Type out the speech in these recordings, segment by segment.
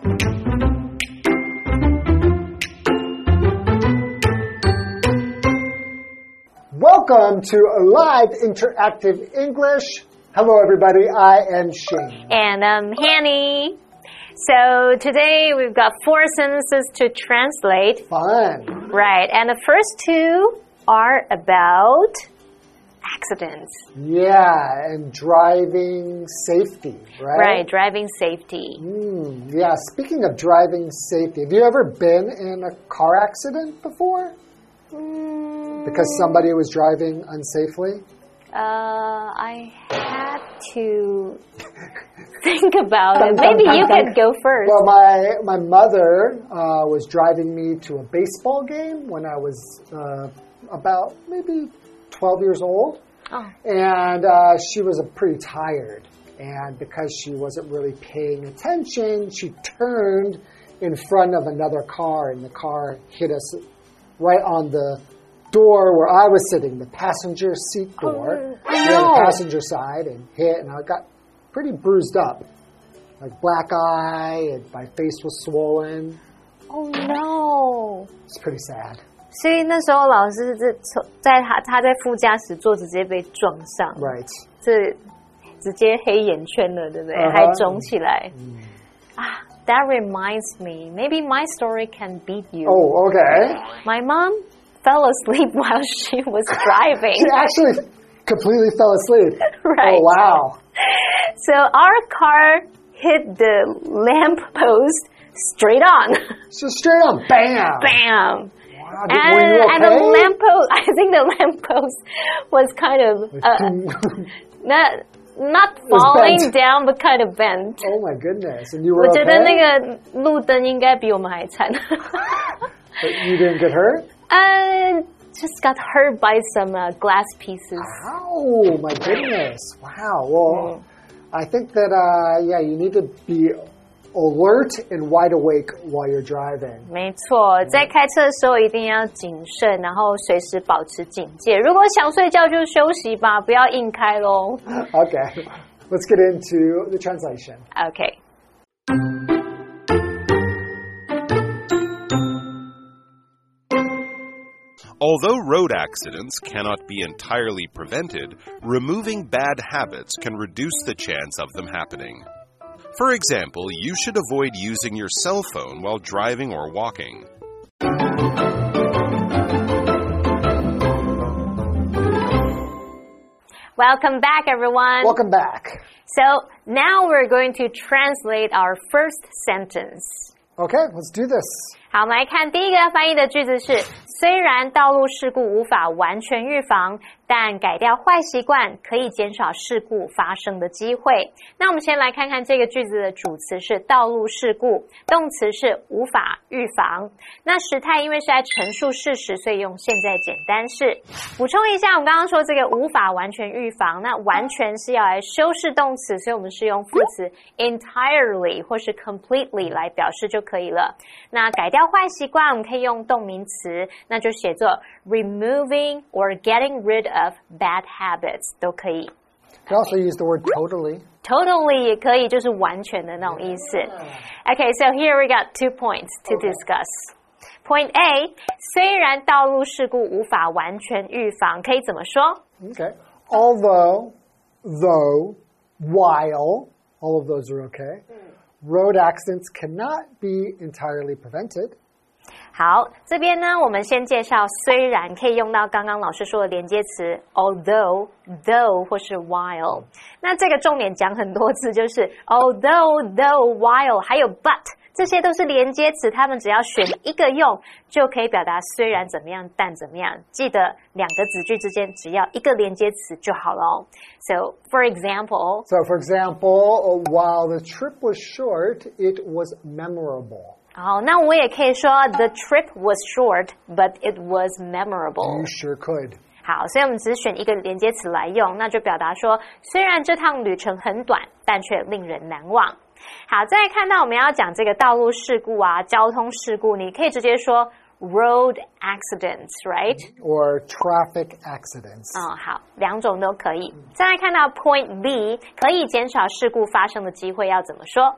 Welcome to Live Interactive English. Hello, everybody. I am Shane. And I'm Hanny. So today we've got 4 sentences to translate. Fun. Right. And the first 2 are about accidents. Yeah, and driving safety, right? Right, driving safety. Yeah, speaking of driving safety, have you ever been in a car accident before? Because somebody was driving unsafely? I had to think about it. Maybe you could go first. Well, my mother was driving me to a baseball game when I was about maybe 12 years old. Oh. And she was pretty tired. And because she wasn't really paying attention, she turned in front of another car, and the car hit us right on the door where I was sitting, the passenger seat door. The passenger side, and hit, and I got pretty bruised up. Like black eye, and my face was swollen. Oh no. It's pretty sad. 所以那时候老师他在副驾駛座直接被撞上 Right. 这直接黑眼圈了，对不对？还腫起来。That reminds me, maybe my story can beat you. Oh, okay. My mom fell asleep while she was driving. She actually completely fell asleep. Right. Oh, wow. So our car hit the lamp post straight on. So straight on, bam. Bam. Wow, were you okay? And the lamppost, I think the lamppost was kind of not falling down, but kind of bent. Oh my goodness! And you were okay? 我觉得那个路灯应该比我们还惨。 But you didn't get hurt? Just got hurt by some glass pieces. Oh my goodness! Wow. Well, I think that yeah, you need to be alert and wide awake while you're driving. 没错，在开车的时候一定要谨慎，然后随时保持警戒。如果想睡觉就休息吧，不要硬开咯。 Okay, let's get into the translation. Okay. Although road accidents cannot be entirely prevented, removing bad habits can reduce the chance of them happening. For example, you should avoid using your cell phone while driving or walking. Welcome back, everyone. Welcome back. So now we're going to translate our first sentence. Okay, let's do this. 好，我们来看第一个要翻译的句子是：虽然道路事故无法完全预防，但改掉坏习惯可以减少事故发生的机会。那我们先来看看这个句子的主词是道路事故，动词是无法预防。那时态因为是在陈述事實，所以用現在簡單式。補充一下，我們剛剛說這個無法完全預防，那完全是要來修飾動詞，所以我們是用副詞 entirely 或是 completely 來表示就可以了。那改掉壞習慣，我們可以用動名詞，那就寫作 removing or getting rid of bad habits 都可以。 You can also use the word totally. Totally 也可以，就是完全的那種意思。Okay, so here we got 2 points to discuss. Point A, 雖然道路事故無法完全預防，可以怎麼說？ Okay. Although, though, while, all of those are okay. Road accidents cannot be entirely prevented. 好，这邊呢，我們先介紹雖然可以用到剛剛老師說的連接詞 although, though 或是 while。那這個重點講很多次，就是 although, though, while 還有 but 這些都是連接詞，它們只要選一個用，就可以表達雖然怎麼樣，但怎麼樣。記得兩個子句之間只要一個連接詞就好了。So, for example, while the trip was short, it was memorable. 好，那我也可以说 The trip was short, but it was memorable. You sure could. 好，所以我們只選一個連接詞來用，那就表達說，雖然這趟旅程很短，但卻令人難忘。好，再來看到我們要講這個道路事故啊，交通事故，你可以直接說 road accidents, right? Or traffic accidents. 好，兩種都可以。再來看到 point B, 可以減少事故發生的機會，要怎麼說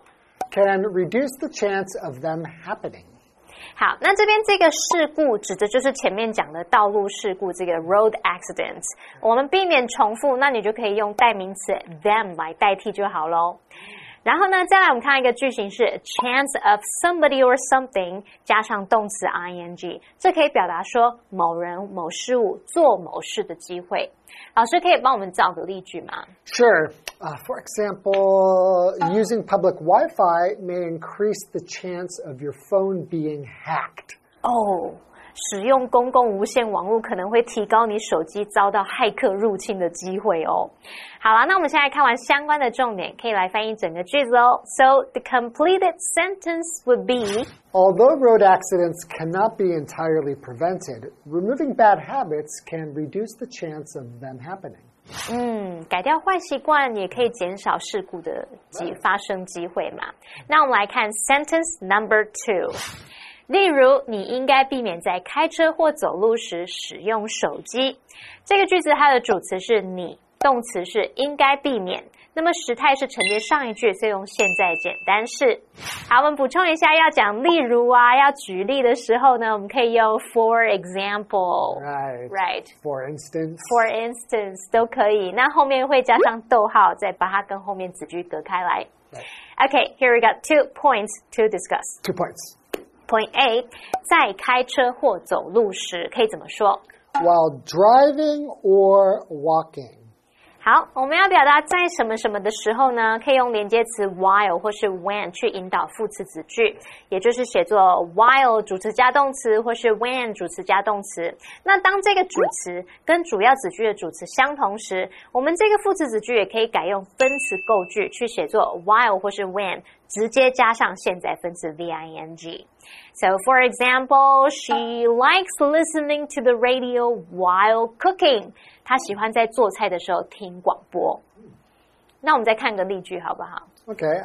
can reduce the chance of them happening. 好，那这边这个事故指的就是前面讲的道路事故，这个 road accidents。我们避免重复，那你就可以用代名词 them 来代替就好咯。然后呢，再来我们看一个句型是 chance of somebody or something 加上动詞 ing， 这可以表達說某人某事物做某事的機會。老師可以幫我們造個例句嗎？ Sure. For example, using public Wi-Fi may increase the chance of your phone being hacked. 使用公共无线網絡可能會提高你手機遭到駭客入侵的機會哦。好啦，那我們現在看完相關的重點，可以來翻譯整個句子哦。So the completed sentence would be Although road accidents cannot be entirely prevented, removing bad habits can reduce the chance of them happening. 改掉壞習慣也可以減少事故的發生機會嘛。那我們來看 sentence number 2。例如，你應該避免在開車或走路時使用手機。這個句子它的主詞是你，動詞是應該避免。那麼時態是承接上一句，所以用現在簡單式。好，我們補充一下，要講例如啊，要舉例的時候呢，我們可以用 for example。Right. For instance. For instance 都可以。那後面會加上逗號，再把它跟後面子句隔開來。Okay, here we got 2 points to discuss. 2 points. Point A, 在開車或走路時可以怎麼說？ While driving or walking. 好，我們要表達在什麼什麼的時候呢？可以用連接詞 while 或是 when 去引導副詞子句，也就是寫作 while 主詞加動詞，或是 when 主詞加動詞。那當這個主詞跟主要子句的主詞相同時，我們這個副詞子句也可以改用分詞構句去寫作 while 或是 when， 直接加上現在分詞 the-ing。So, for example, she likes listening to the radio while cooking. 她喜歡在做菜的時候聽廣播。那我們再看個例句好不好？ Okay,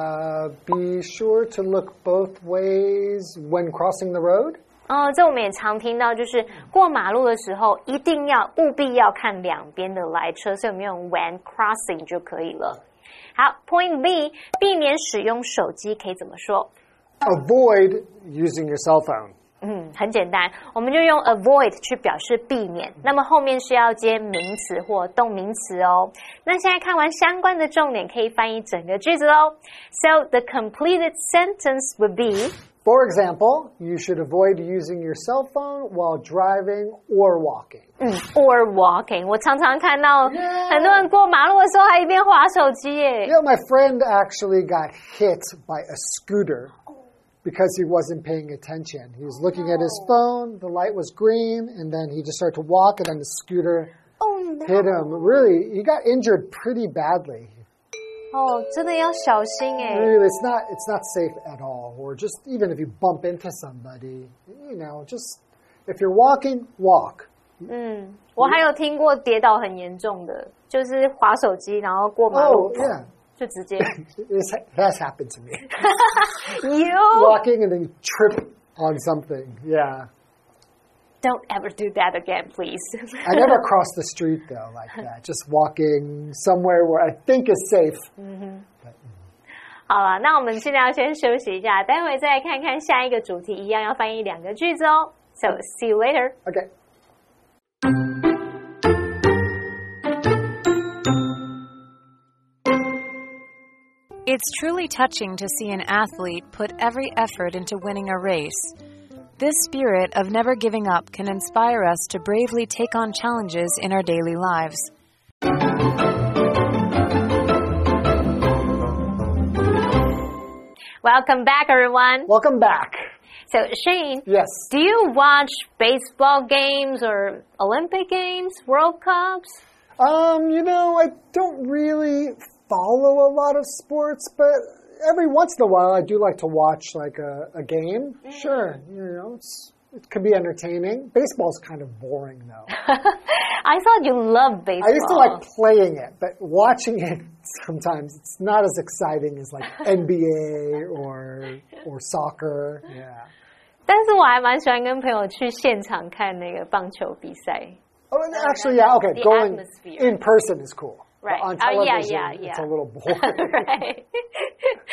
be sure to look both ways when crossing the road. 這我們也常聽到，就是過馬路的時候一定要務必要看兩邊的來車，所以我們用 when crossing 就可以了。好 ，Point B， 避免使用手機可以怎麼說？ Avoid using your cell phone. 很簡單，我們就用 avoid 去表示避免，那麼後面是要接名詞或動名詞哦。那現在看完相關的重點，可以翻譯整個句子哦。So the completed sentence would be For example, you should avoid using your cell phone while driving or walking. Or walking. 我常常看到很多人過馬路的時候還一邊滑手機耶。 Yeah, my friend actually got hit by a scooter because he wasn't paying attention. He was looking at his phone, the light was green, and then he just started to walk, and then the scooter hit him. Really, he got injured pretty badly. 真的要小心耶。 Really, it's not safe at all. Or just even if you bump into somebody, just if you're walking, walk. 我還有聽過跌倒很嚴重的，就是滑手機然後過馬路。 Yeah. 就直接 It has happened to me. You walking and then you trip on something. Yeah. Don't ever do that again, please. I never cross the street though like that. Just walking somewhere where I think is safe. 好了，那我們現在要先休息一下，待會再來看看下一個主題，一樣要翻譯2個句子哦。So see you later. Okay. It's truly touching to see an athlete put every effort into winning a race. This spirit of never giving up can inspire us to bravely take on challenges in our daily lives. Welcome back, everyone. Welcome back. So, Shane, Yes. Do you watch baseball games or Olympic games, World Cups? I don't really follow a lot of sports, but every once in a while I do like to watch like a game. Sure, it could be entertaining. Baseball's kind of boring though. I thought you loved baseball. I used to like playing it, but watching it sometimes it's not as exciting as like NBA or soccer. Yeah. 但是我還蠻喜歡跟朋友去現場看那個棒球比賽。 Oh, actually, yeah, okay. Going atmosphere. in person is cool. Right. On television, yeah. it's a little boring. Right.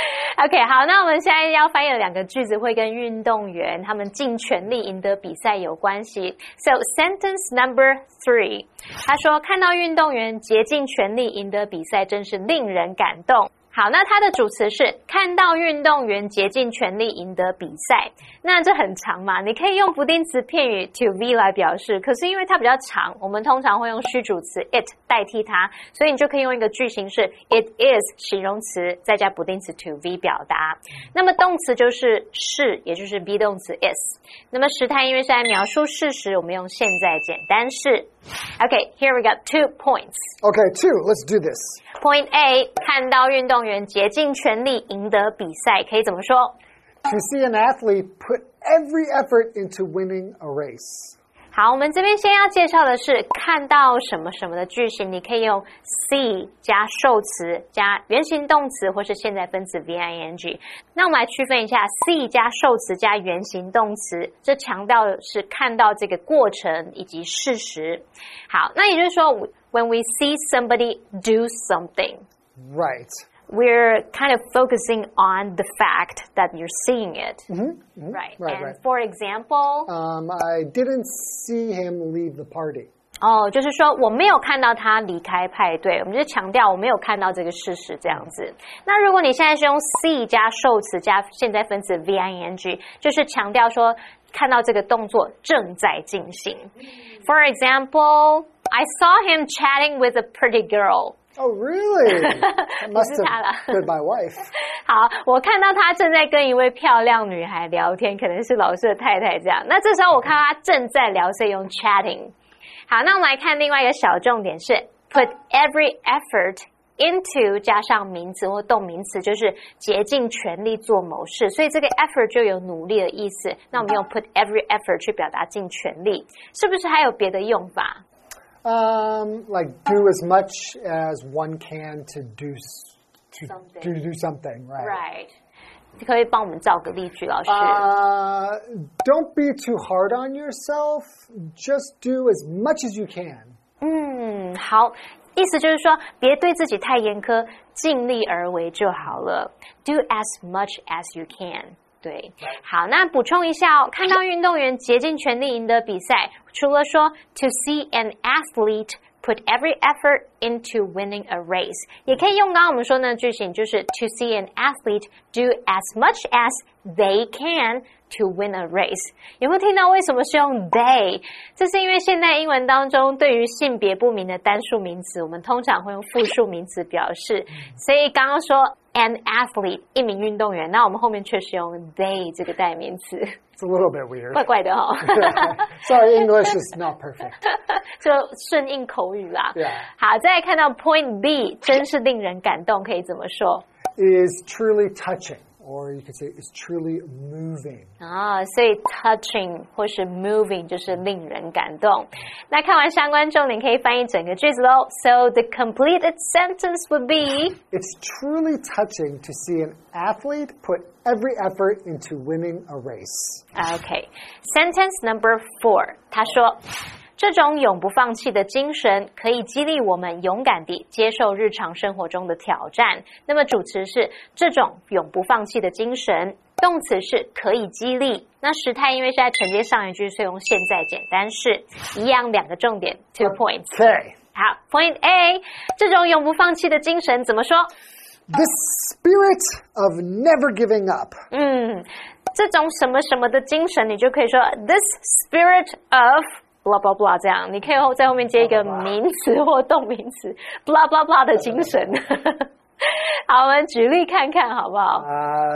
OK， 好，那我們現在要翻譯的2個句子會跟運動員他們盡全力贏得比賽有關係。So sentence number 3， 他說看到運動員竭盡全力贏得比賽，真是令人感動。好，那它的主詞是看到運動員竭盡全力贏得比賽，那這很長嘛，你可以用不定詞片語 to be 來表示，可是因為它比較長，我們通常會用虛主詞 it 代替它，所以你就可以用一個句型是 it is 形容詞再加不定詞 to be 表達。那麼動詞就是是，也就是 be 動詞 is。那麼時態因為是在描述事實，我們用現在簡單式。Okay, here we got 2 points. Okay, 2. Let's do this. Point A, 看到運動員竭盡全力贏得比賽，可以怎麼說？ To see an athlete put every effort into winning a race. 好，我們這邊先要介紹的是看到什麼什麼的句型，你可以用 see 加受詞加原形動詞或是現在分詞 VING。那我們來區分一下 see 加受詞加原形動詞，這強調的是看到這個過程以及事實。好，那也就是說 when we see somebody do something, Right. we're kind of focusing on the fact that you're seeing it. Right. And for example, I didn't see him leave the party. 就是說我沒有看到他離開派對，我們就強調我沒有看到這個事實這樣子。那如果你現在是用 see 加受詞加現在分詞 VING， 就是強調說看到這個動作正在進行。For example, I saw him chatting with a pretty girl. Oh, really? I must have been my wife. 好，我看到他正在跟一位漂亮女孩聊天，可能是老師的太太這樣。那這時候我看到他正在聊，所以用 chatting。好，那我們來看另外一個小重點是 put every effort into 加上名詞或動名詞，就是竭盡全力做某事，所以這個 effort 就有努力的意思。那我們用 put every effort 去表達盡全力，是不是還有別的用法 ？Like do as much as one can to do something, right? Right. 可以幫我們造個例句，老師。 Don't be too hard on yourself. Just do as much as you can. 好，意思就是说，別對自己太嚴苛，盡力而為就好了。Do as much as you can. 對，好，那補充一下哦，看到運動員竭盡全力贏得比賽，除了說 to see an athlete put every effort into winning a race， 也可以用剛剛我們說的句型，就是 to see an athlete do as much as they can to win a race。 有沒有聽到為什麼是用 they？ 這是因為現代英文當中對於性別不明的單數名詞，我們通常會用複數名詞表示，所以剛剛說an athlete 一名運動員，那我們後面卻是用 they 這個代名詞。 It's a little bit weird. 怪怪的哦。 Sorry, English is not perfect. 就順應口語啦。 Yeah. 好，再來看到 point B， 真是令人感動，可以怎麼說？ Is truly touching, or you could say is truly moving. 所以 touching 或是 moving 就是令人感動。那看完相關重點，可以翻譯整個句子咯。So the completed sentence would be, It's truly touching to see an athlete put every effort into winning a race. Okay. Sentence number 4， 他說，這種永不放棄的精神可以激勵我們勇敢地接受日常生活中的挑戰。那麼主詞是這種永不放棄的精神，動詞是可以激勵。那時態因為是在承接上一句，所以用現在簡單式。一樣兩個重點 2 points。 Okay. 好 ，Point A， 這種永不放棄的精神怎麼說？ The spirit of never giving up. 這種什麼什麼的精神，你就可以說 This spirit of blah blah blah 這樣，你可以在後面接一個名詞或動名詞 blah blah blah 的精神。好，我們舉例看看好不好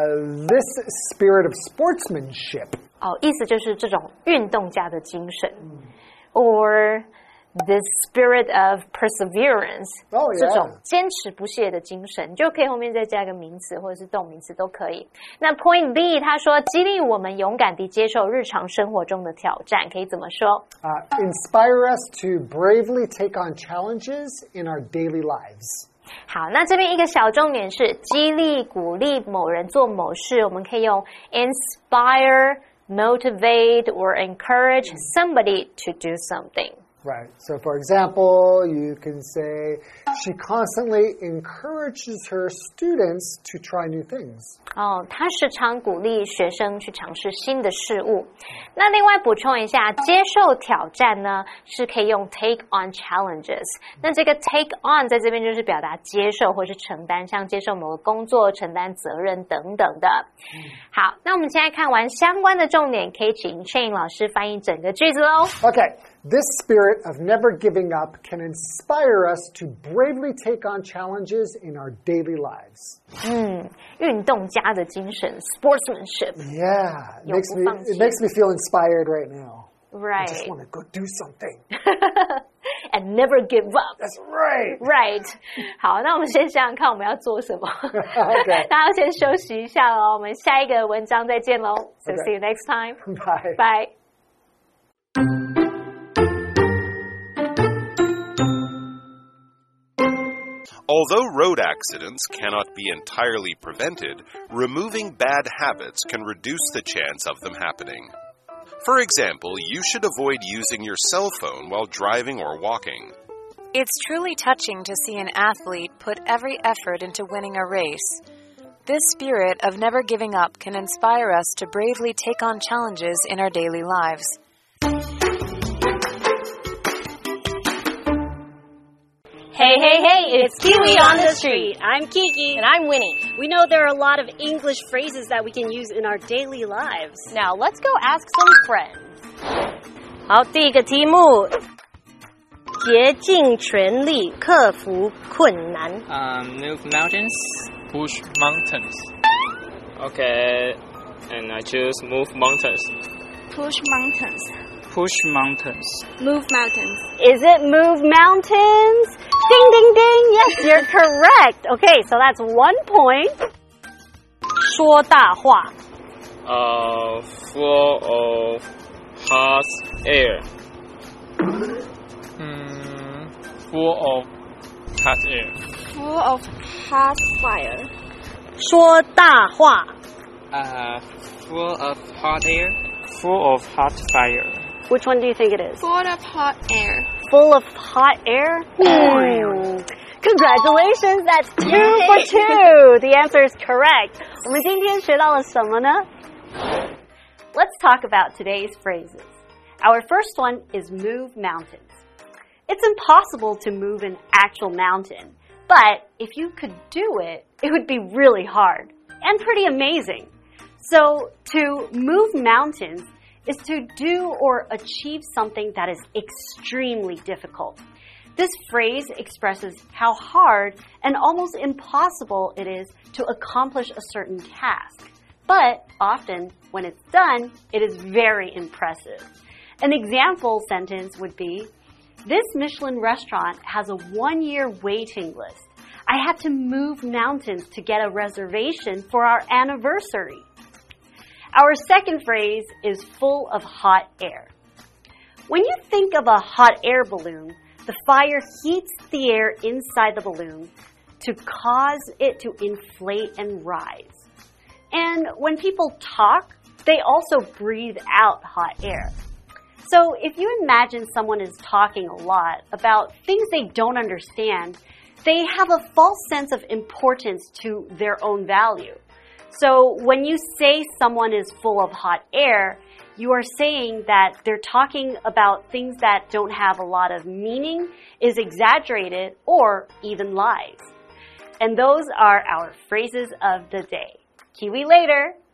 ？This spirit of sportsmanship. 意思就是這種運動家的精神。Or the spirit of perseverance， 這種堅持不懈的精神，就可以後面再加一個名詞或者是動名詞都可以。那 Point B， 他說激勵我們勇敢地接受日常生活中的挑戰，可以怎麼說 ？Inspire us to bravely take on challenges in our daily lives。 好，那這邊一個小重點是激勵、鼓勵某人做某事，我們可以用 inspire, motivate or encourage somebody to do something。 Right. So, for example, you can say, she constantly encourages her students to try new things. 她时常鼓励学生去尝試新的事物。那另外補充一下，接受挑戰呢，是可以用 take on challenges。那這個 take on 在這邊就是表達接受或是承擔，像接受某個工作、承擔責任等等的。好，那我們現在看完相關的重點，可以請 Shane 老師翻譯整個句子咯。 Okay. This spirit of never giving up can inspire us to bravely take on challenges in our daily lives. 運動家的精神 sportsmanship. Yeah, it makes me feel inspired right now. Right. I just want to go do something. And never give up. That's right. Right. 好，那我们先想想看我们要做什么。 Okay. 大家先休息一下咯，我们下一个文章再见咯。So see you next time. Bye. Bye. Although road accidents cannot be entirely prevented, removing bad habits can reduce the chance of them happening. For example, you should avoid using your cell phone while driving or walking. It's truly touching to see an athlete put every effort into winning a race. This spirit of never giving up can inspire us to bravely take on challenges in our daily lives. Hey, it's Kiwi on the street. I'm Kiki. And I'm Winnie. We know there are a lot of English phrases that we can use in our daily lives. Now, let's go ask some friends. 好，第一个题目，竭尽全力克服困难。 Move mountains. Push mountains. Okay, and I choose move mountains. Push mountains. Push mountains. Move mountains. Is it move mountains? Ding, ding, ding. Yes, you're correct. Okay, so that's 1 point. 说大话。 Full of hot air. Full of hot air. Full of hot fire. 说大话。 Full of hot air. Full of hot fire. Which one do you think it is? Full of hot air. Full of hot air? Congratulations, that's 2 for 2. The answer is correct. 我们今天学到了什么呢? Let's talk about today's phrases. Our first one is move mountains. It's impossible to move an actual mountain, but if you could do it, it would be really hard and pretty amazing. So, to move mountains is to do or achieve something that is extremely difficult. This phrase expresses how hard and almost impossible it is to accomplish a certain task. But often, when it's done, it is very impressive. An example sentence would be, this Michelin restaurant has a 1-year waiting list. I had to move mountains to get a reservation for our anniversary. Our second phrase is full of hot air. When you think of a hot air balloon, the fire heats the air inside the balloon to cause it to inflate and rise. And when people talk, they also breathe out hot air. So if you imagine someone is talking a lot about things they don't understand, they have a false sense of importance to their own value. So when you say someone is full of hot air, you are saying that they're talking about things that don't have a lot of meaning, is exaggerated, or even lies. And those are our phrases of the day. Kiwi later!